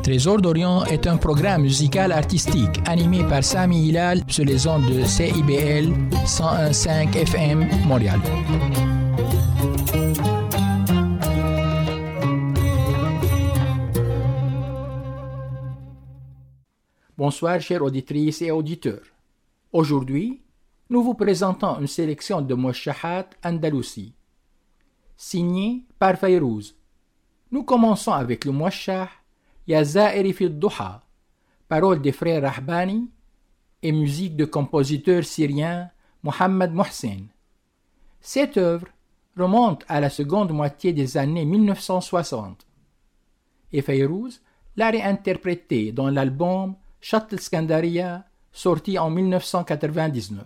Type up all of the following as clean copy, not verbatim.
Trésor d'Orient est un programme musical artistique animé par Sami Hilal sur les ondes de CIBL 101.5 FM Montréal. Bonsoir chères auditrices et auditeurs. Aujourd'hui, nous vous présentons une sélection de Mouachahat Andalousi, signée par Fayrouz. Nous commençons avec le Mouachah Ya Zairi fi Duha, paroles des frères Rahbani et musique de compositeur syrien Mohamed Mohsen. Cette œuvre remonte à la seconde moitié des années 1960 et Fayrouz l'a réinterprétée dans l'album Shatt al-Skandaria sorti en 1999.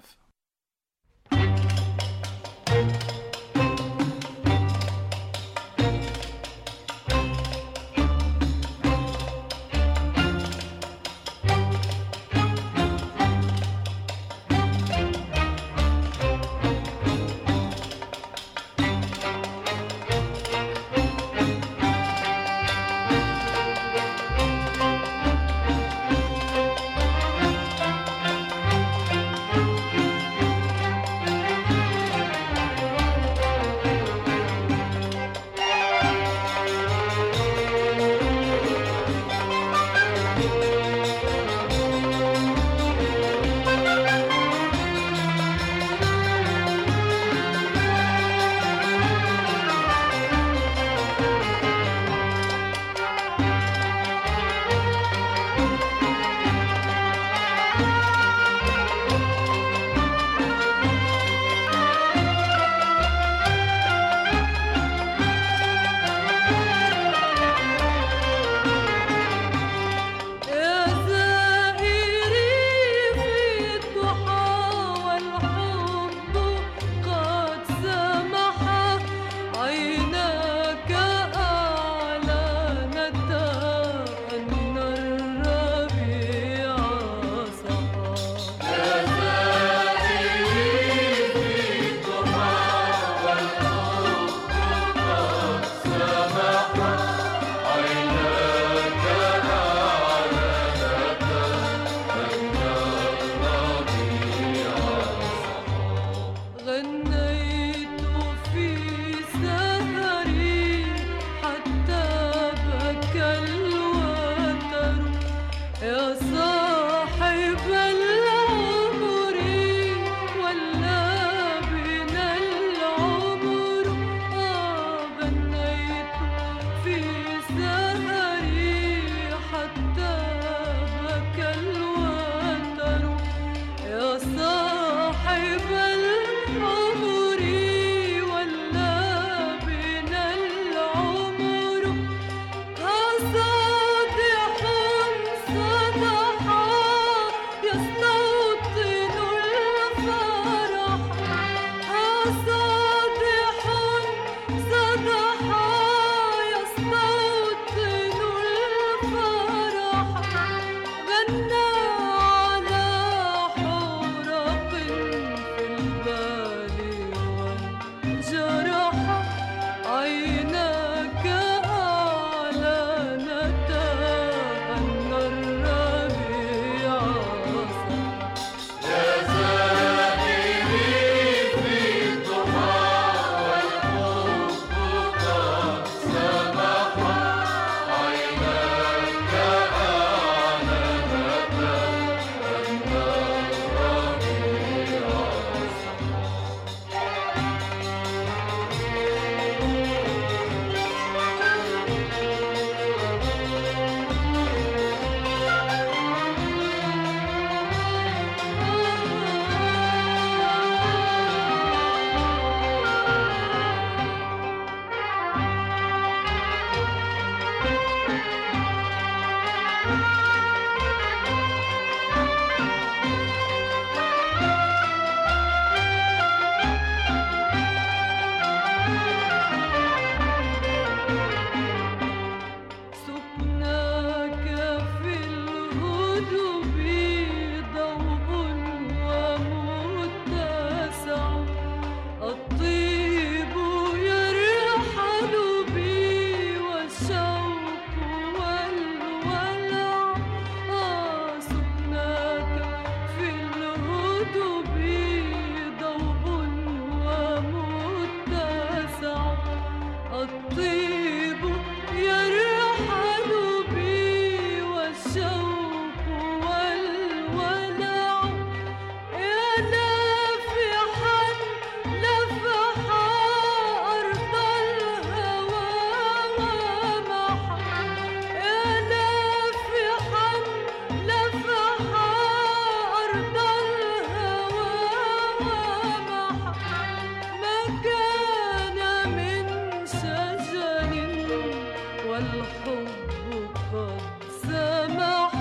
والحب قد سمح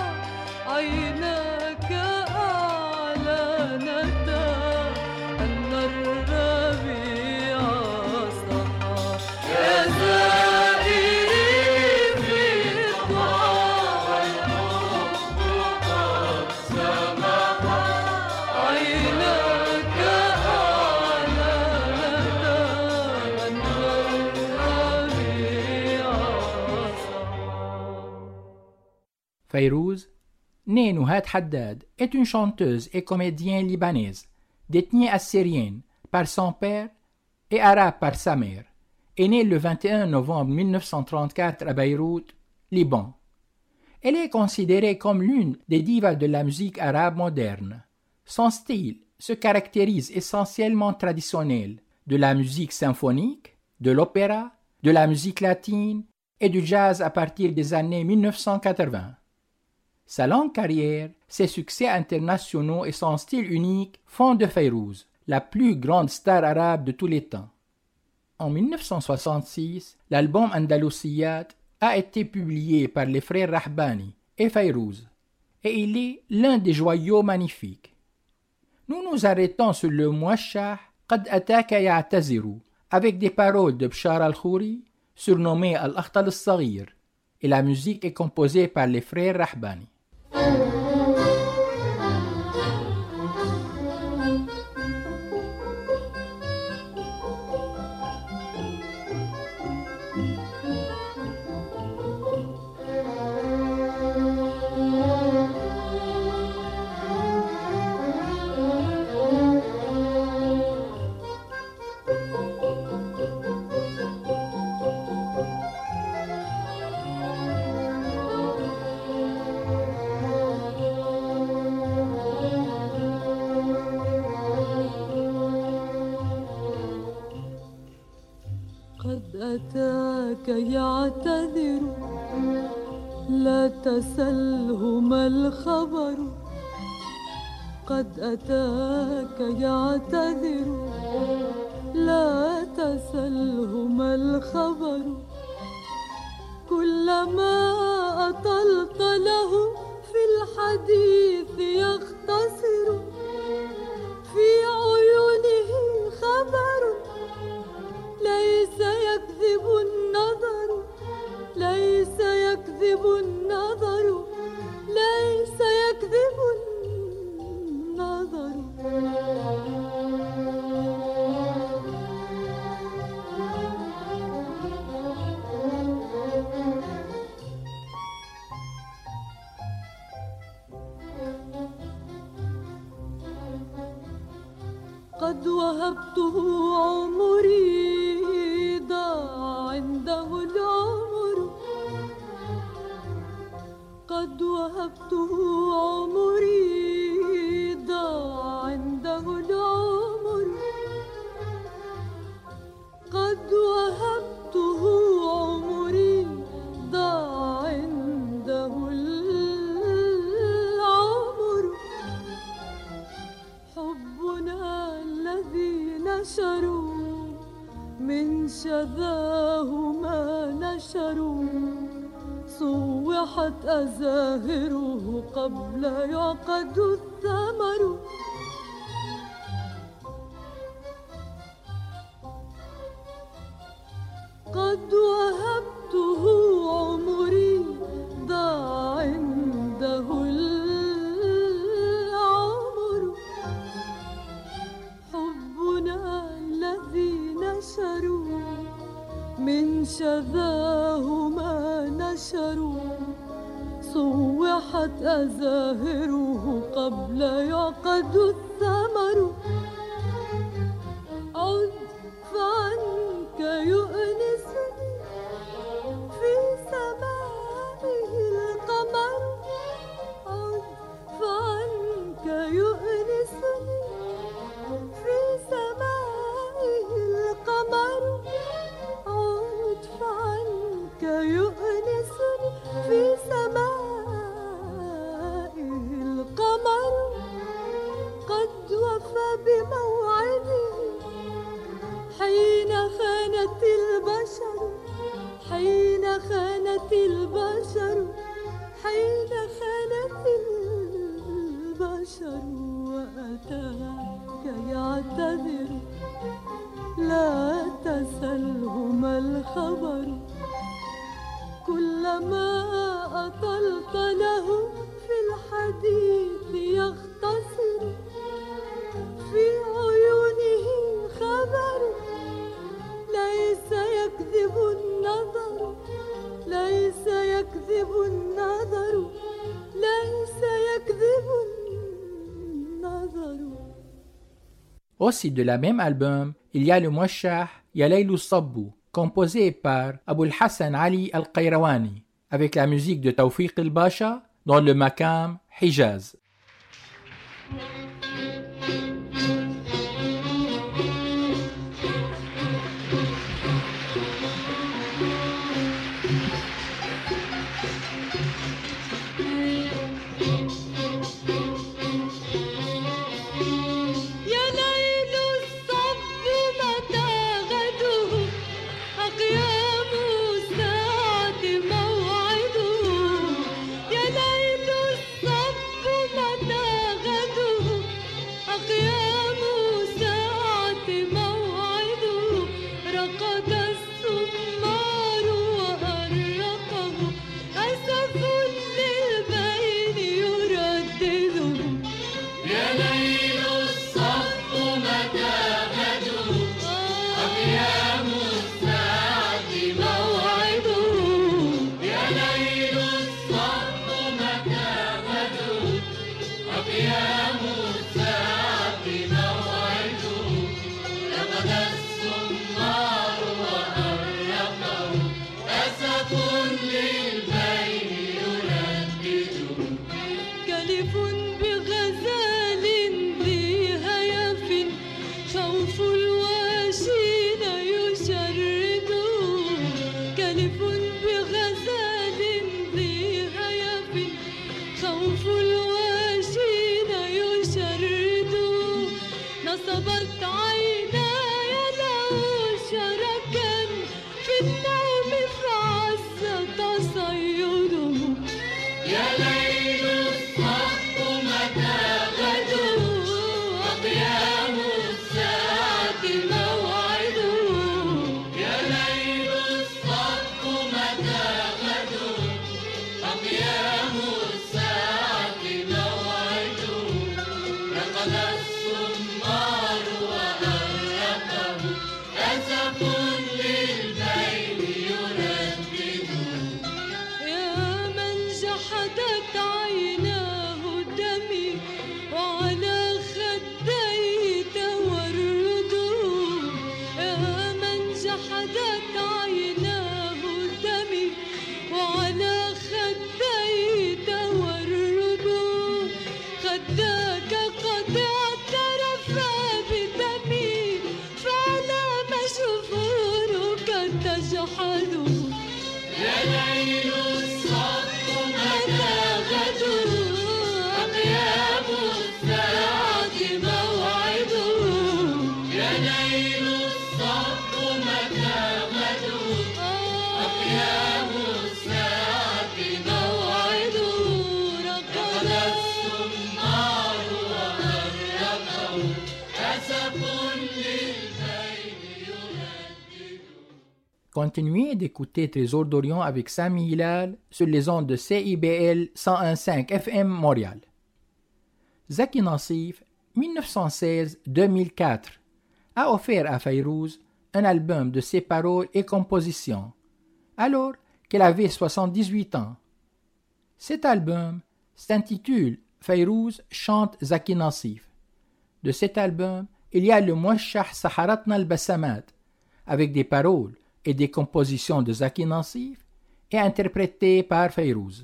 عيناك أعلنتا أن الربيع صحى يا زائري في الضحى والحب قد سمح عيناك أعلنتا أن الربيع صحى. Fayrouz, née Nouhat Haddad, est une chanteuse et comédienne libanaise, d'ethnie assyrienne par son père et arabe par sa mère, est née le 21 novembre 1934 à Beyrouth, Liban. Elle est considérée comme l'une des divas de la musique arabe moderne. Son style se caractérise essentiellement traditionnel, de la musique symphonique, de l'opéra, de la musique latine et du jazz à partir des années 1980. Sa longue carrière, ses succès internationaux et son style unique font de Fayrouz la plus grande star arabe de tous les temps. En 1966, l'album Andalusiyat a été publié par les frères Rahbani et Fayrouz, et il est l'un des joyaux magnifiques. Nous nous arrêtons sur le Mouachah Qad Ataka Ya'taziru avec des paroles de Bchar al-Khouri, surnommé Al-Akhtal al-Saghir, et la musique est composée par les frères Rahbani. أتاك يعتذر لا تسله ما الخبر قد أتاك يعتذر لا تسله ما الخبر كلما أطلت له في الحديث يختصر في عيونه خبر ليس يكذب النظر ليس يكذب النظر ليس يكذب النظر قد وهبته عمري ضاع عنده العمر قد وهبته عمري ضاع عنده العمر قد وهبته عمري ضاع عنده العمر حبنا الذي نشروا من شذاه ما نشروا صوحت أزاهره قبل يعقد الثمر قد وهبته عمري ضاع عنده العمر حبنا الذي نشروا من شذاه ما نشروا صوحت أزاهره قبل يعقد الثمر عد فعنك يؤنسني في سمائه القمر عد فعنك يؤنسني في سمائه القمر عد فعنك يؤنسني في سمائه القمر قد وفى بموعده حين خانت البشر حين حين خانت البشر وأتاك يعتذر لا تسله ما الخبر كلما أطلت له في الحديث يختصر في عيونه خبر ليس يكذب النظر ليس يكذب النظر ليس يكذب النظر. Aussi de la même album, il y a le Mouachah Ya Laylu Sabbu, composé par Abul Hassan Ali Al-Qayrawani, avec la musique de Tawfiq El-Basha dans le maqam Hijaz. Continuez d'écouter Trésor d'Orient avec Sami Hilal sur les ondes de CIBL 101.5 FM Montréal. Zaki Nassif, 1916-2004, a offert à Fayrouz un album de ses paroles et compositions, alors qu'elle avait 78 ans. Cet album s'intitule Fayrouz chante Zaki Nassif. De cet album, il y a le Mouachah Saharatna al-Bassamat, avec des paroles et des compositions de Zaki Nassif et interprétées par Fayrouz.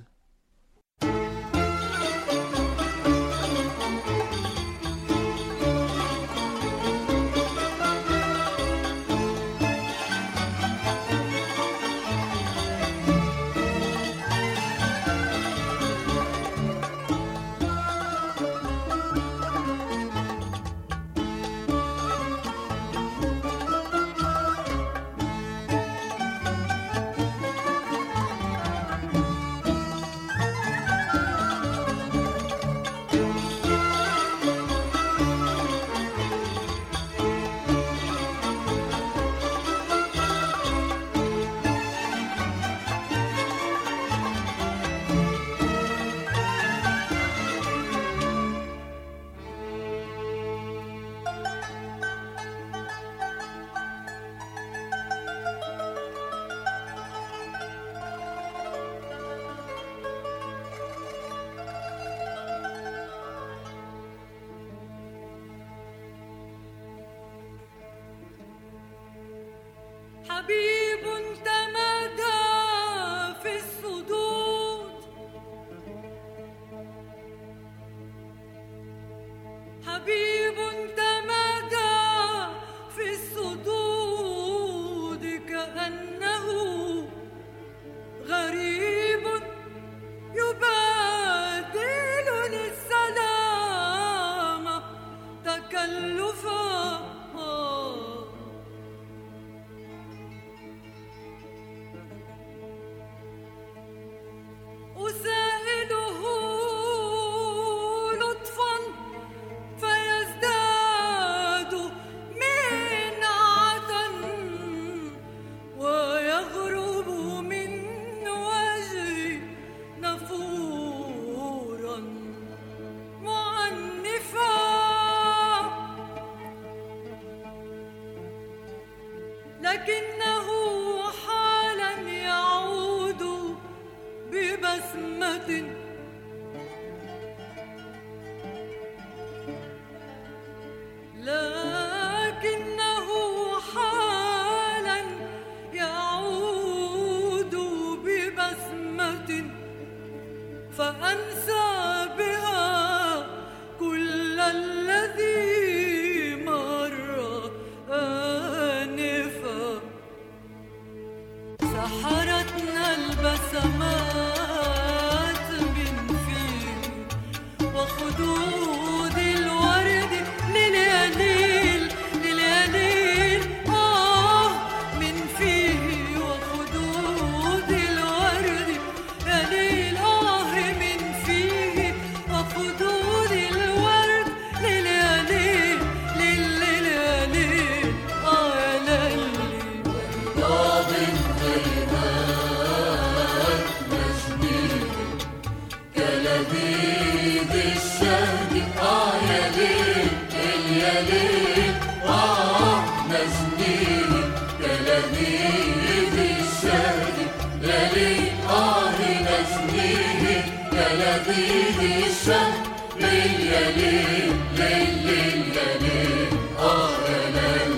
لذيذ الشهر ليل يا ليل ليل ليل يا ليل يا ليل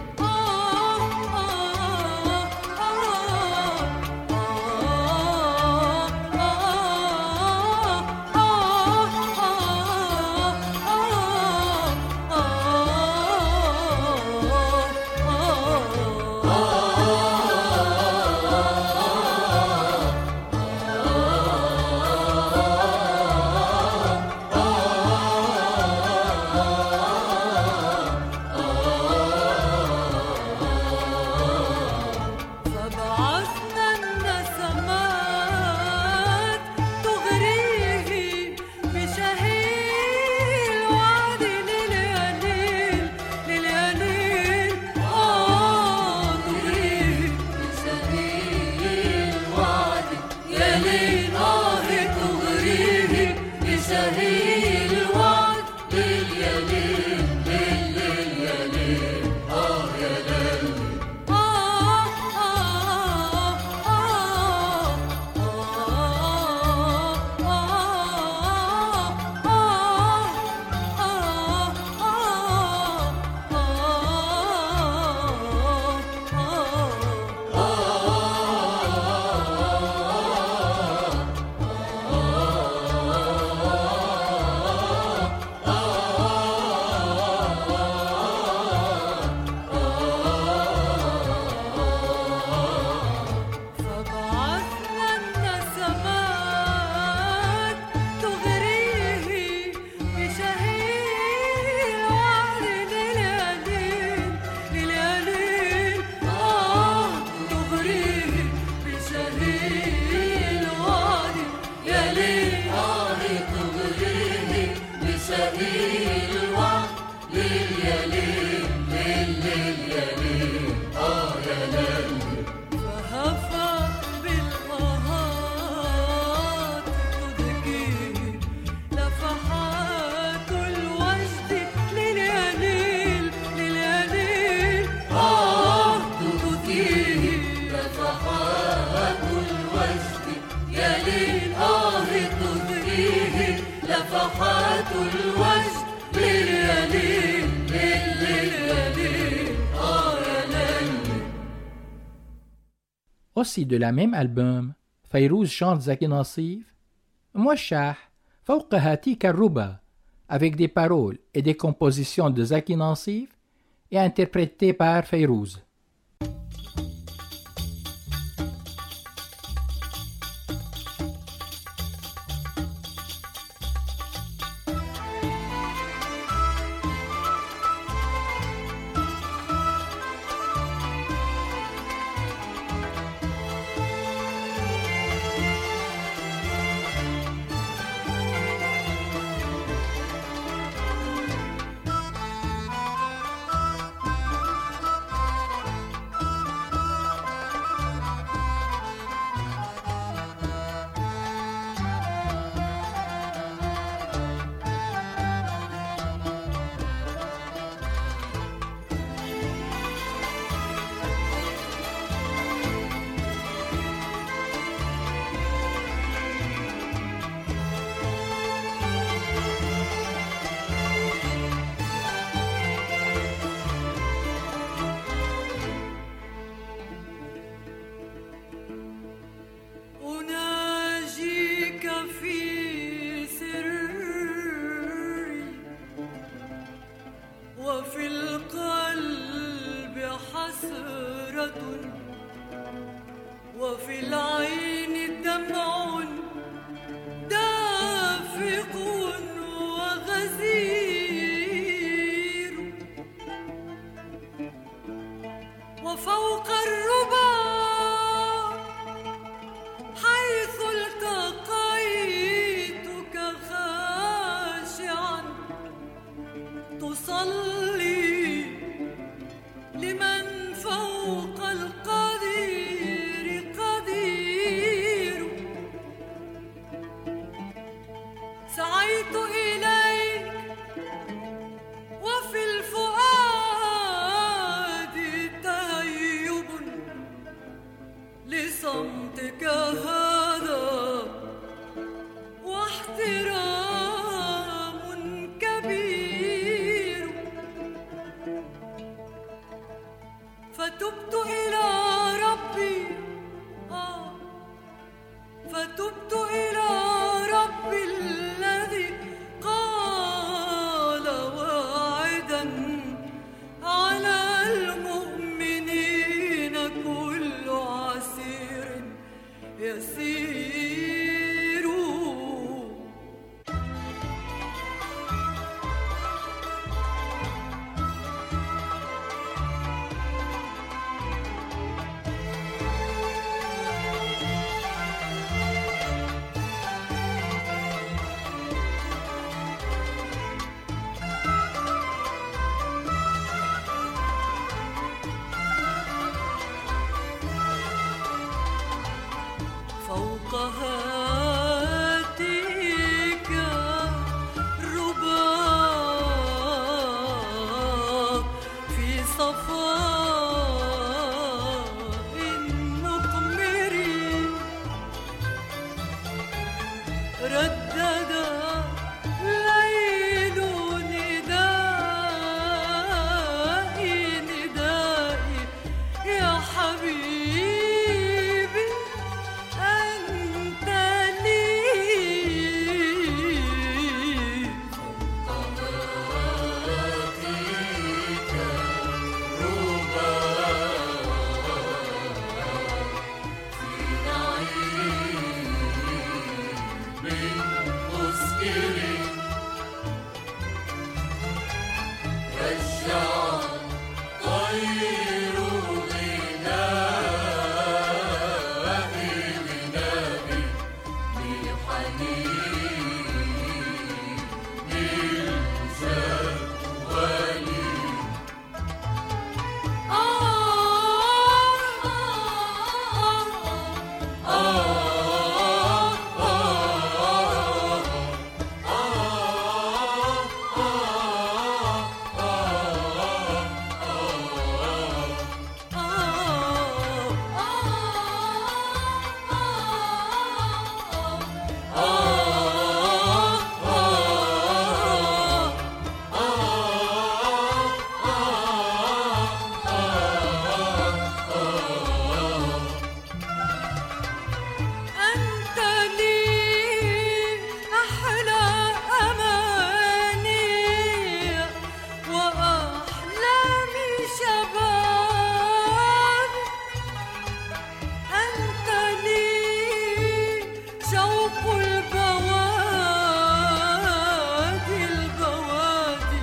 Aussi de la même album, Fayrouz chante Zaki Nassif, موشح فوق هاتيك الربا, avec des paroles et des compositions de Zaki Nassif et interprétées par Fayrouz. وفي العين دمع دافق وغزير وفوق الربا حيث التقيتك خاشعا تصلي لمن فوق القدير قدير سعيت إليك وفي الفؤاد تهيب لصمتك هذا وحدي فتبت إلى ربي فتبت إلى ربي الذي قال واعدا على المؤمنين كل عسير يسير. فوق هاتيك الرباط في صفاء النقمر ردد ليل ندائي ندائي يا حبيبي أنت لي. فوق هاتيك الرباط في نعيم مسكر رجع طير غنائي غنائي بحنين الجوال. أنت لي أحلى أماني وأحلامي شباب. أنت لي شوق البوادي البوادي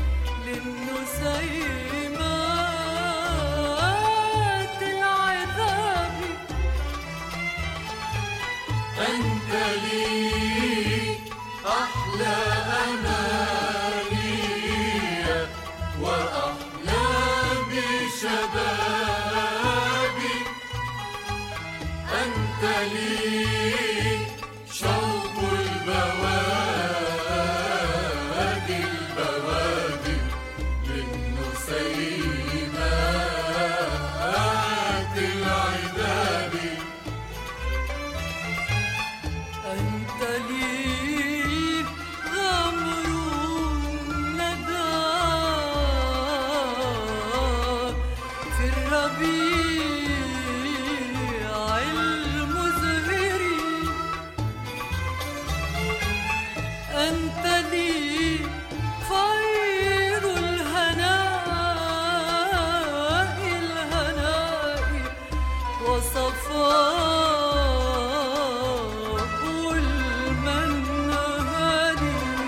للنسيمات العذاب. أنت لي أحلى أماني وأحلامي شبابي. أنت لي شوق البوادي البوادي للنسيمات العذاب. أنت لي غمر الندى في الربيع المزهر. أنت لي خير الهناء الهناء وصفاء المنهل.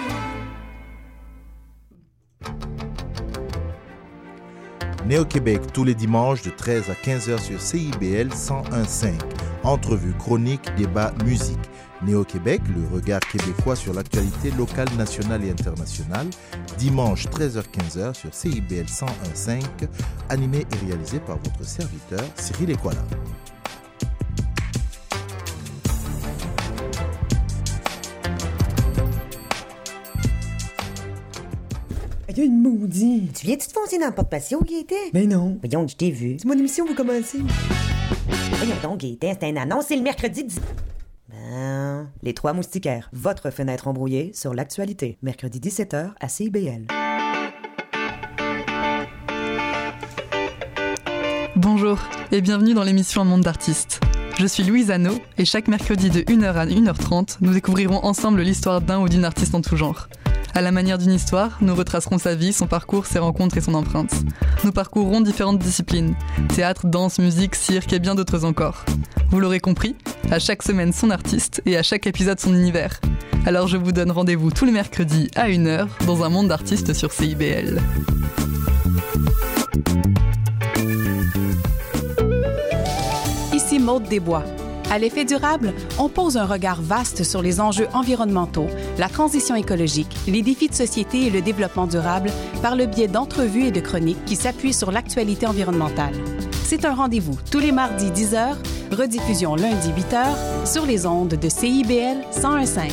Néo-Québec tous les dimanches de 13 à 15h sur CIBL 101.5. Entrevues, chroniques, débats, musique. Néo-Québec, le regard québécois sur l'actualité locale, nationale et internationale. Dimanche 13h-15h sur CIBL 101.5. Animé et réalisé par votre serviteur Cyril Ekwala. Il y a une maudite. Tu viens-tu te foncer dans le porte-patio, Gaëtan? Ben non. Voyons, je t'ai vu. C'est mon émission, vous commencez. Voyons donc, Gaëtan, c'est une annonce, c'est le mercredi 10... Ben... Les Trois Moustiquaires, votre fenêtre embrouillée sur l'actualité. Mercredi 17h à CIBL. Bonjour et bienvenue dans l'émission Un monde d'artistes. Je suis Louise Anneau et chaque mercredi de 1h à 1h30, nous découvrirons ensemble l'histoire d'un ou d'une artiste en tout genre. À la manière d'une histoire, nous retracerons sa vie, son parcours, ses rencontres et son empreinte. Nous parcourrons différentes disciplines, théâtre, danse, musique, cirque et bien d'autres encore. Vous l'aurez compris, à chaque semaine son artiste et à chaque épisode son univers. Alors je vous donne rendez-vous tous les mercredis à 1h dans un monde d'artistes sur CIBL. Ici Maude Desbois. À l'effet durable, on pose un regard vaste sur les enjeux environnementaux, la transition écologique, les défis de société et le développement durable par le biais d'entrevues et de chroniques qui s'appuient sur l'actualité environnementale. C'est un rendez-vous tous les mardis 10h, rediffusion lundi 8h sur les ondes de CIBL 101.5.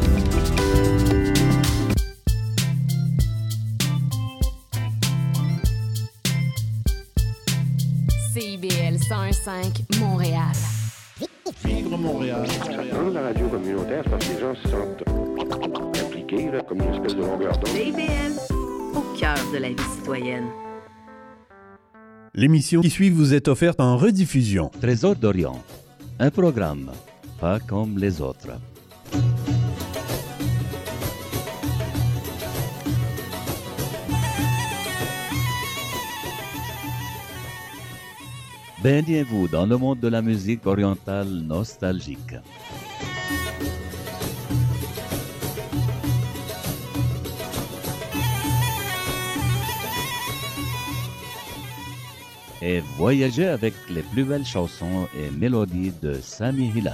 CIBL 101.5 Montréal. Vivre Montréal. Dans la radio communautaire, c'est parce que les gens se sentent impliqués, là, comme une espèce de longueur d'onde. CIBL, au cœur de la vie citoyenne. L'émission qui suit vous est offerte en rediffusion. Trésor d'Orient, un programme pas comme les autres. Baignez-vous dans le monde de la musique orientale nostalgique. Et voyagez avec les plus belles chansons et mélodies de Sami Hilal.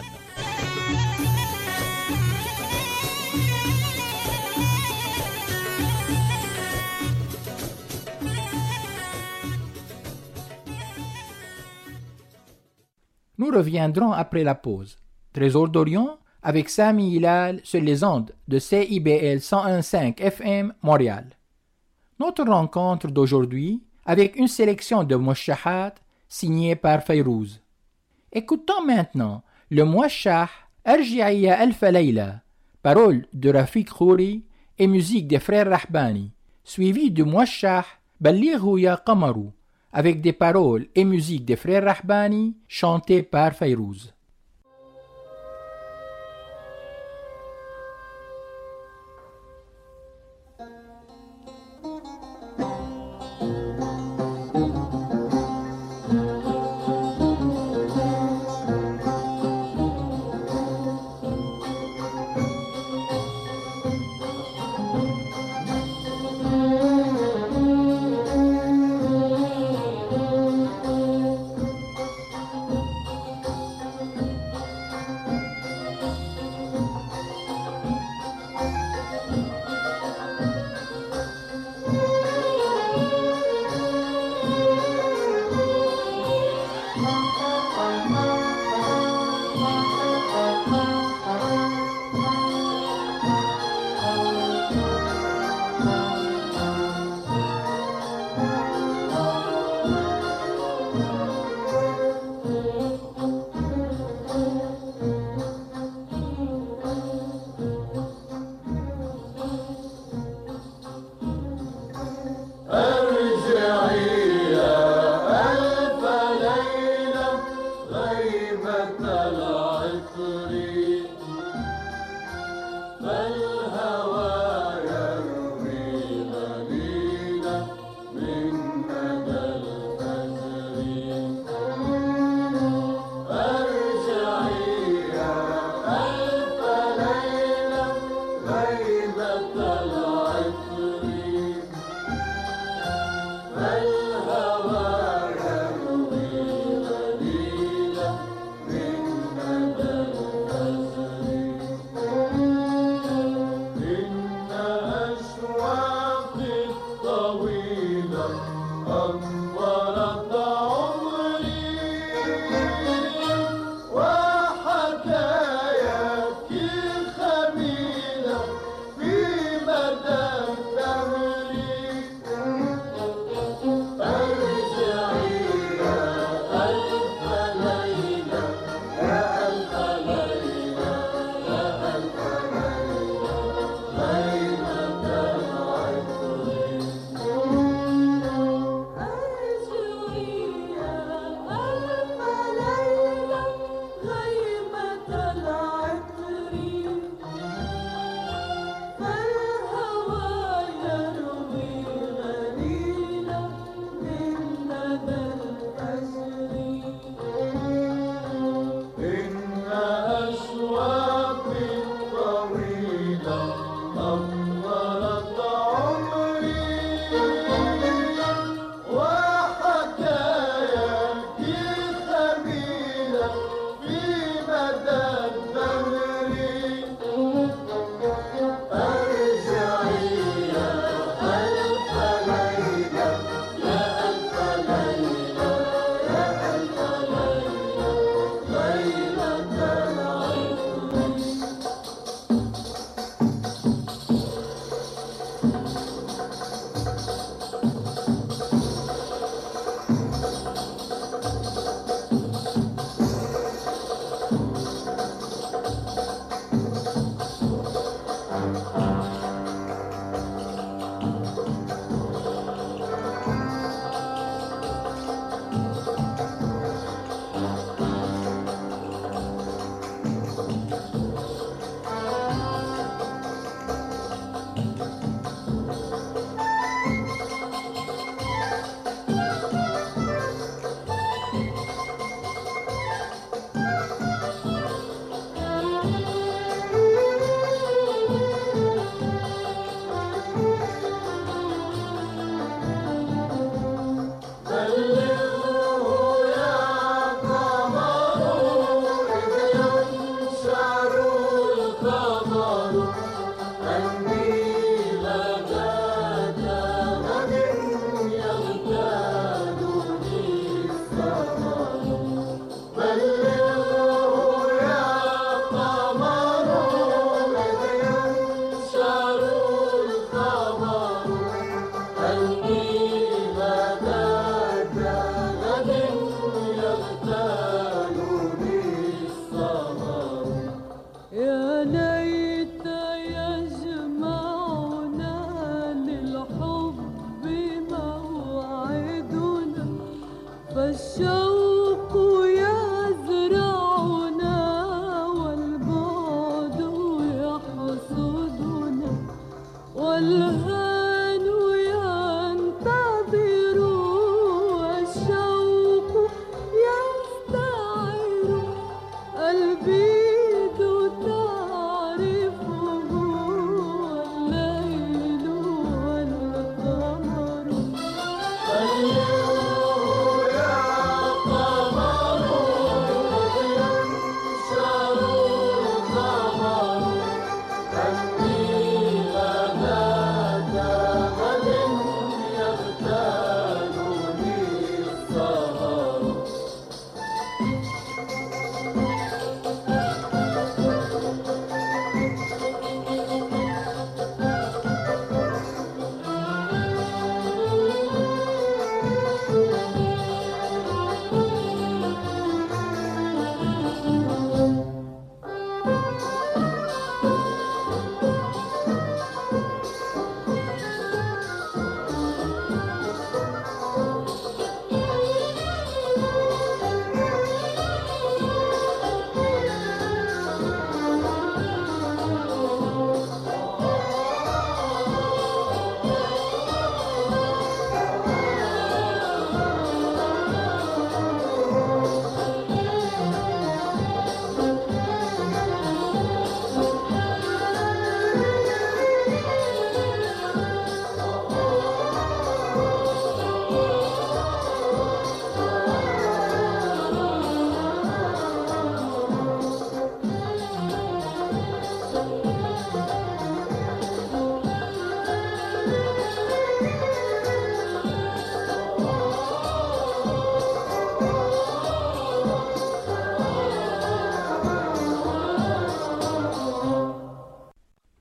Nous reviendrons après la pause. Trésor d'Orient avec Sami Hilal sur les ondes de CIBL 101.5 FM Montréal. Notre rencontre d'aujourd'hui avec une sélection de mouachahat signée par Fayrouz. Écoutons maintenant le mouachah Arji'ia Alfa Layla, paroles de Rafik Khouri et musique des frères Rahbani, suivi du mouachah Ballighu Ya Qamaru, avec des paroles et musique des frères Rahbani chantées par Fayrouz. غيبة العين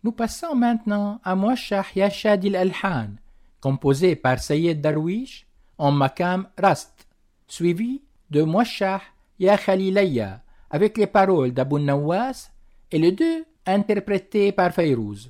Nous passons maintenant à Mouachah Ya Shadi al-Alhan, composé par Sayed Darwish en makam Rast, suivi de Mouachah Ya Khalilayya avec les paroles d'Abou Nawas et les deux interprétés par Fayrouz.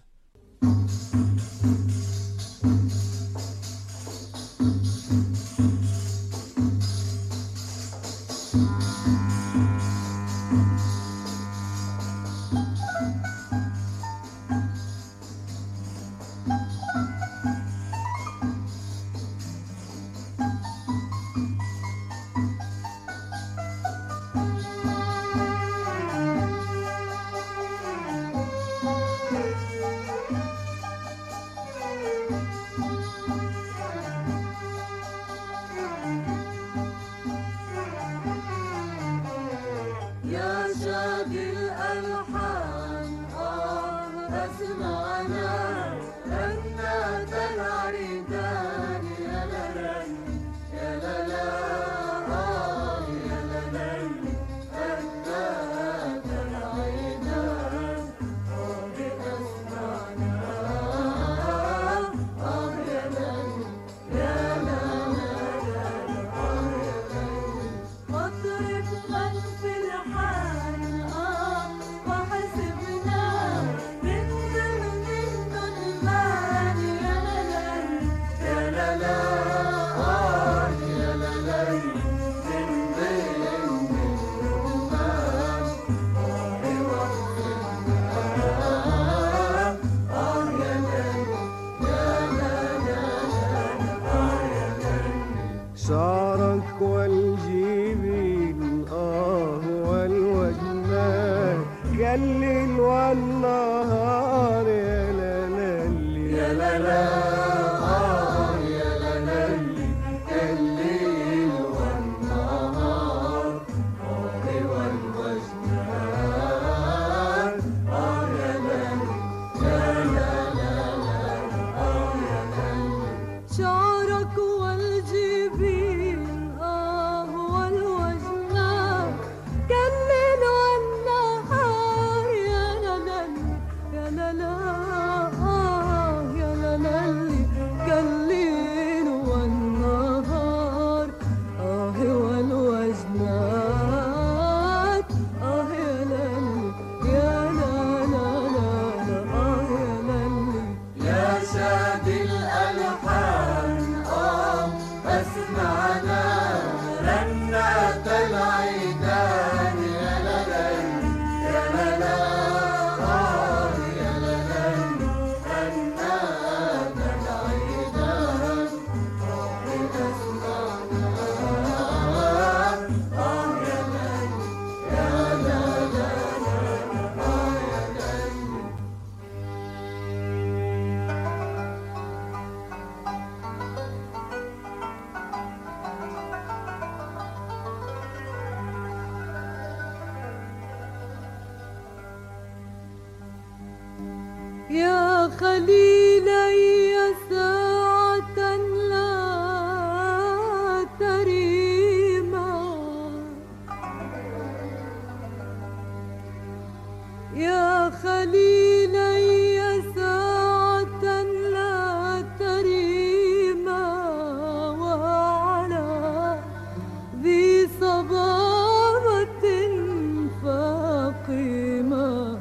يا خليلي ساعة لا تريما يا خليلي ساعة لا تريما وعلى ذي صبابة فاقمة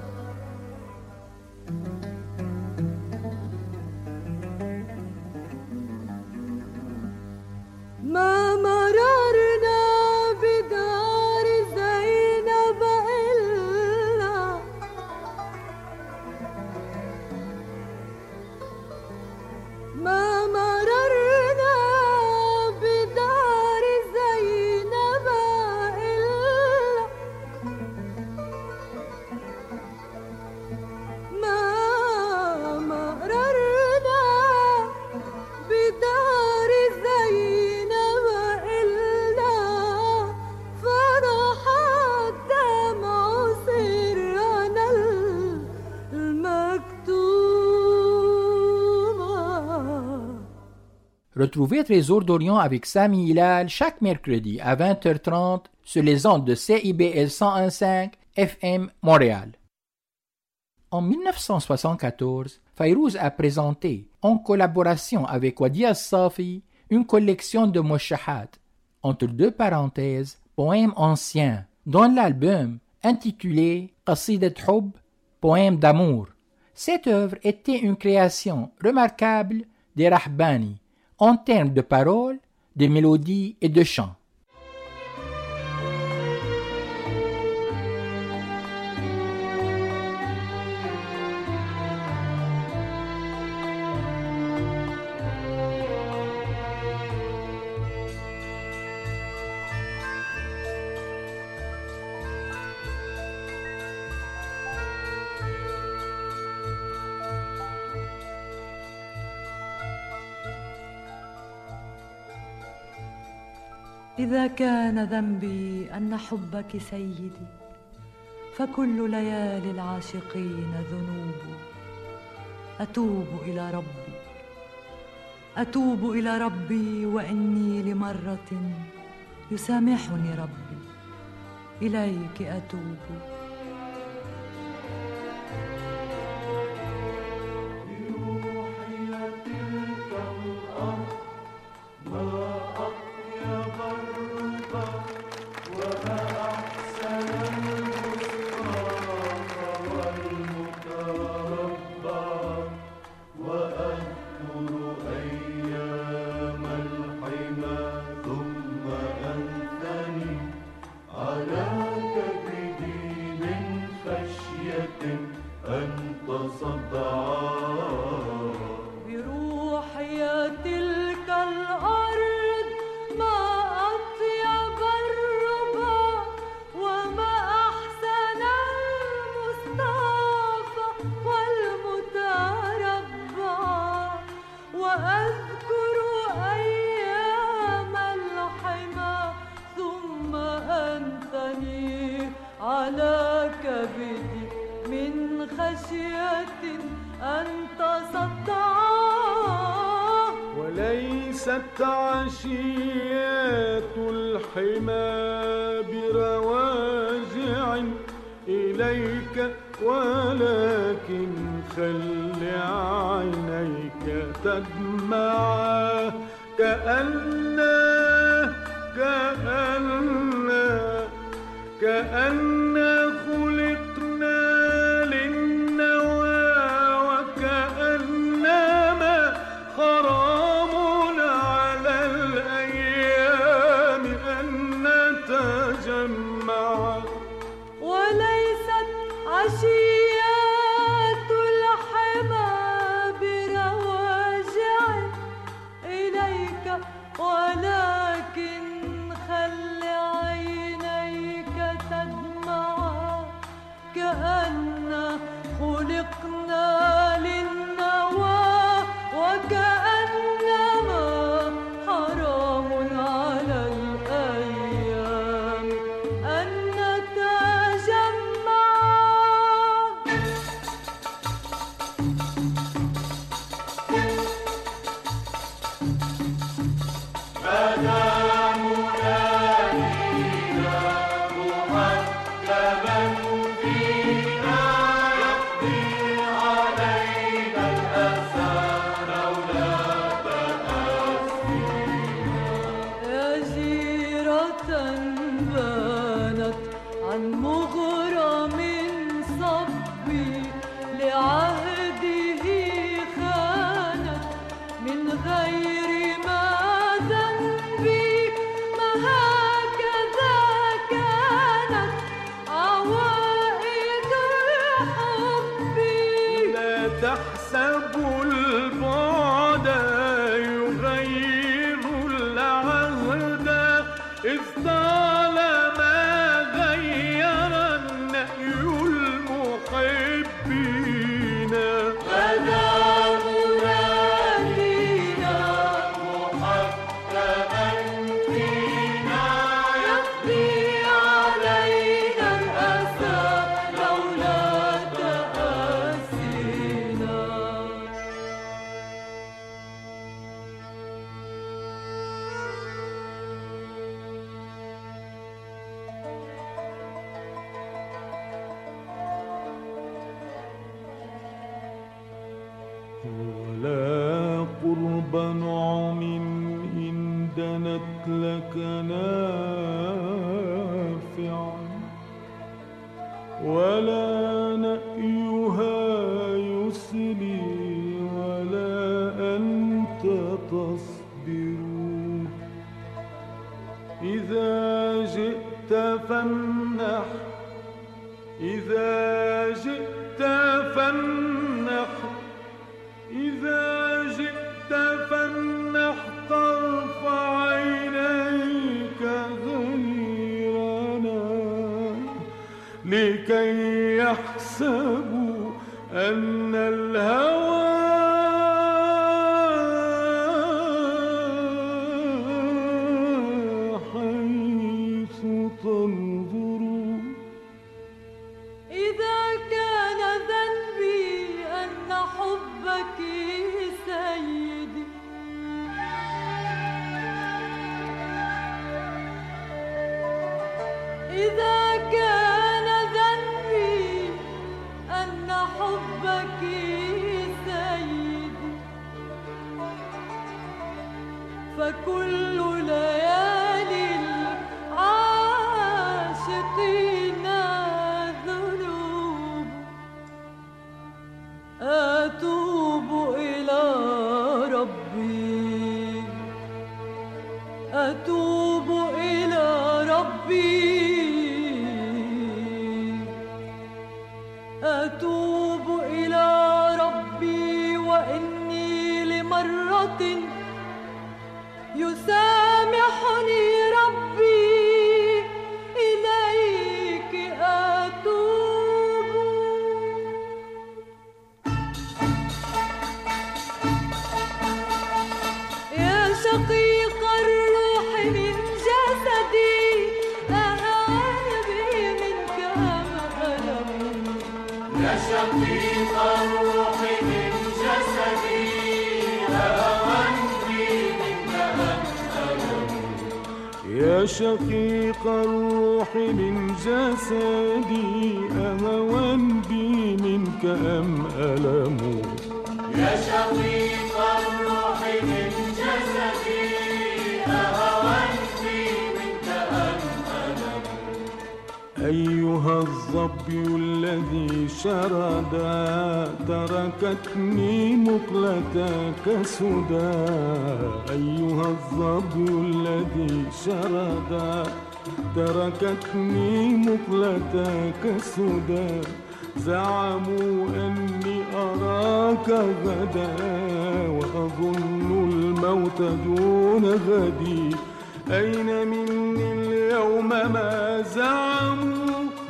ما مررنا بدار زينب إلا ما مررنا بدار زينب إلا ما مررنا بدار زينب إلا فرح الدمع سرنا المكتومة. Retrouvez Trésor d'Orient avec Sami Hilal chaque mercredi à 20h30 sur les ondes de CIBL 101.5 FM Montréal. En 1974, Fayrouz a présenté, en collaboration avec Wadi Al-Safi, une collection de mouchahat, entre deux parenthèses, poèmes anciens, dans l'album intitulé Qasidat Hub, poème d'amour. Cette œuvre était une création remarquable des Rahbani en termes de paroles, de mélodies et de chants. إذا كان ذنبي أن حبك سيدي فكل ليالي العاشقين ذنوب. أتوب إلى ربي وإني لمرة يسامحني ربي إليك أتوب. وليست عشيات الحمى برواجع إليك ولكن خل عينيك تدمعا كأن خلقنا للنوى وكأنما حرام على الأيام أن نتجمع. وليست عشيات الحمى برواجع إليك ولكن خل عينيك تدمعا كأن خلقنا للنوى وكأنما حرام على الأيام أن نتجمع. تحسب البعد يغير العهد إذ طالما غير النهي المحبين. غدا مرادنا محكما فينا يقضي علينا الأسى لولا تأسينا. ولا قرب نعم إن دنت لك نافعا ولا نأيها يسلي ولا أنت تصبر إذا جئت فامنح إذا جئت فامنح إذا جئت فامنح طرف عينيك غيرنا لكي يحسبوا أن الهوى حيث تنظر إذا كان ذنبي أن حبك سيدي إذا كان ذنبي أن حبك سيدي فكل ليالي العاشقين ذنوب أتوب إلى ربي أتوب إلى ربي أتوب إلى ربي وإني لمرة يسامحني ربي إليك أتوب يا شقيق الروح من جسدي أهان بي منك ألم يا شقيق الروح من جسدي أهان بي منك ألم يا شقيق الروح من جسدي أهوان بي منك أم ألم يا شقيق الروح من جسدي أهوان بي منك أم ألم أيها الظبي الذي شردا تركتني مقلتك سدى أيها الظبي الذي شردا تركتني مقلتك سدى زعموا أني أراك غدا وأظن الموت دون غدي أين مني اليوم ما زعموا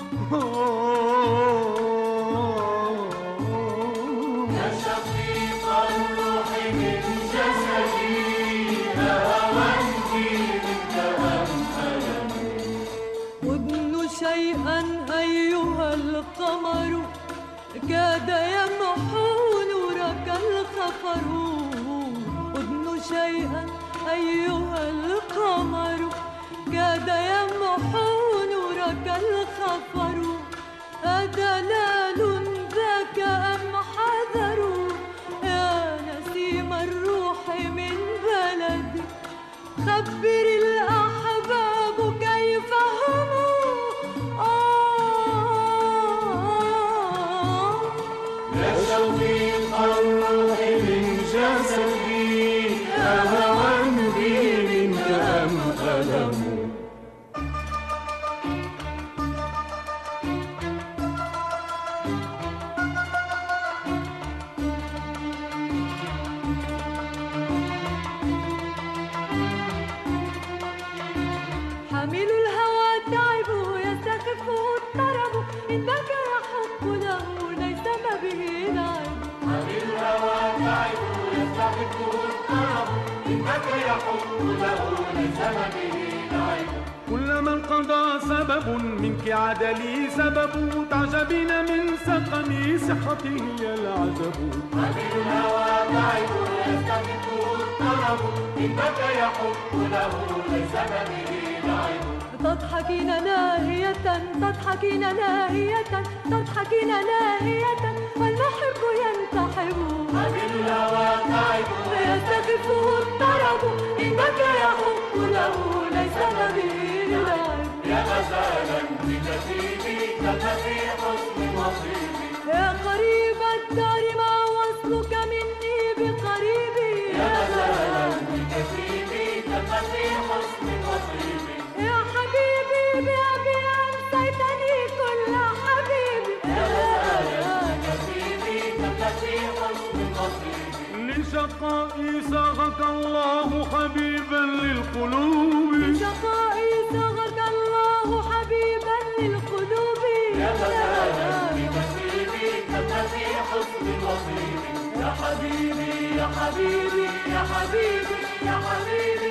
يا شقيق الروح من جسدي أهوان بي منك أم ألم أدن شيئا أيها القمر كاد يمحو نورك الخفر أدن شيئا أيها القمر كاد يمحو نورك الخفر أدلال ذاك أم حذر يا نسيم الروح من بلدي خبر الأحباب كيف هم يا شقيق الروح من جسدي أهوان بي منك أم ألم حامل الهوى تعب يستخفه الطرب إنك يحق له ليس ما به لعب حامل الهوى تعب يستخفه الطرب إنك يحق له ليس ما به لعب كلما انقضى سبب منك عاد لي سبب تعجبين من سقمي صحتي هي العجب حامل الهوى تعب يستخفه الطرب إنك يحق له ليس ما به لعب تضحكين لاهية تضحكين لاهية تضحكين لاهية والمحب ينتحب حامل الهوى تعب يستخفه الطرب إن بكى يحق له ليس نبيل العيب يا غزالا بكثيبي تكفي حسن نصيبي يا قريب الدار ما وصلك مني بقريبي يا غزالا بكثيبي تكفي حسن نصيبي يا حبيبي بأبي أنسيتني كل حبيبي يا غزالا بكثيبي تكفي حسن نصيبي لشقائي صاغك الله حبيبا للقلوب لشقائي صاغك الله حبيبا للقلوب يا غزالا بكثيبي تكفي حسن نصيبي يا حبيبي يا حبيبي يا حبيبي يا حبيبي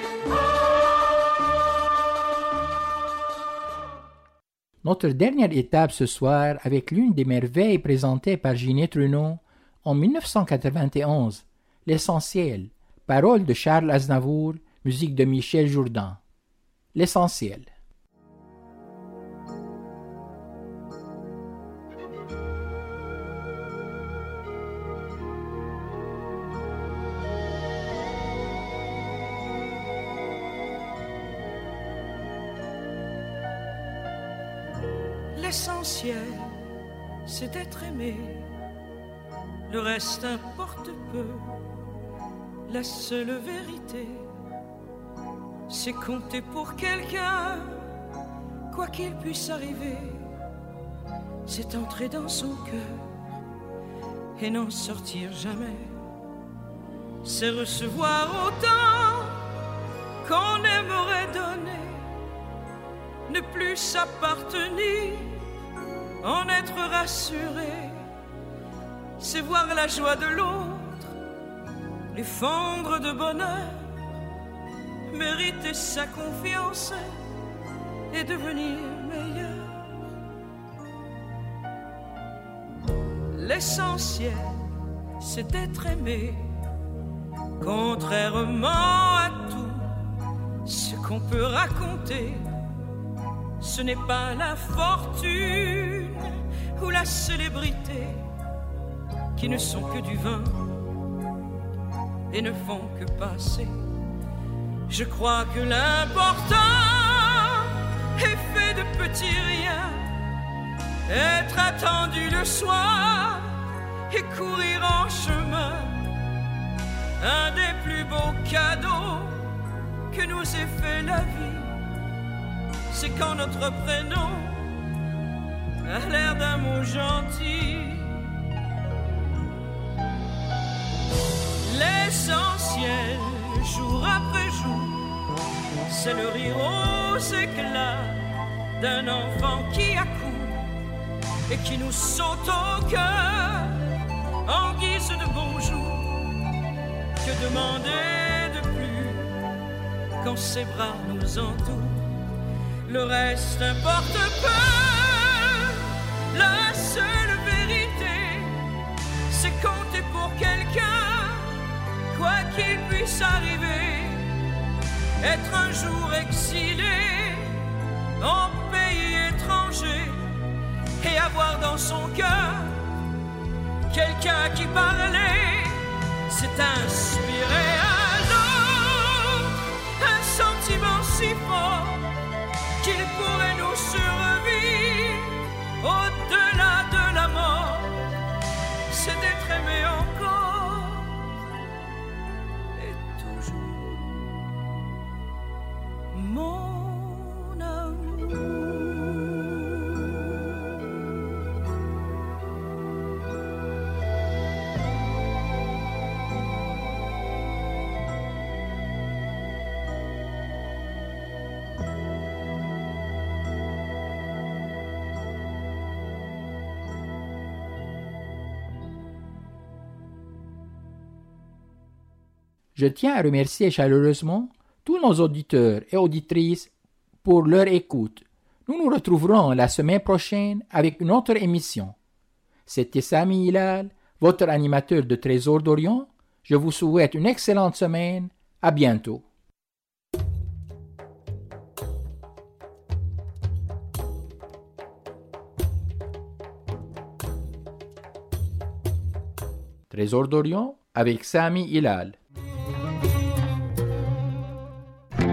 Notre dernière étape ce soir avec l'une des merveilles présentées par Ginette Renaud en 1991, L'Essentiel, paroles de Charles Aznavour, musique de Michel Jourdan. L'Essentiel. L'essentiel, c'est d'être aimé. Le reste importe peu. La seule vérité, c'est compter pour quelqu'un, quoi qu'il puisse arriver. C'est entrer dans son cœur et n'en sortir jamais. C'est recevoir autant qu'on aimerait donner. Ne plus s'appartenir, en être rassuré. C'est voir la joie de l'autre, lui fondre de bonheur, mériter sa confiance et devenir meilleur. L'essentiel, c'est d'être aimé, contrairement à tout ce qu'on peut raconter. Ce n'est pas la fortune ou la célébrité qui ne sont que du vin et ne font que passer. Je crois que l'important est fait de petits riens, être attendu le soir et courir en chemin. Un des plus beaux cadeaux que nous ait fait la vie, c'est quand notre prénom a l'air d'un mot gentil. L'essentiel, jour après jour, c'est le rire aux éclats d'un enfant qui accourt et qui nous saute au cœur en guise de bonjour. Que demander de plus quand ses bras nous entourent? Le reste importe peu. La seule vérité, c'est compter pour quelqu'un, quoi qu'il puisse arriver. Être un jour exilé en pays étranger et avoir dans son cœur quelqu'un qui parlait, c'est inspirer à l'autre un sentiment si fort qu'il pourrait nous survivre au-delà de la mort. C'est d'être aimé encore et toujours, mon amour. Je tiens à remercier chaleureusement tous nos auditeurs et auditrices pour leur écoute. Nous nous retrouverons la semaine prochaine avec une autre émission. C'était Sami Hilal, votre animateur de Trésor d'Orient. Je vous souhaite une excellente semaine. À bientôt. Trésor d'Orient, avec Sami Hilal.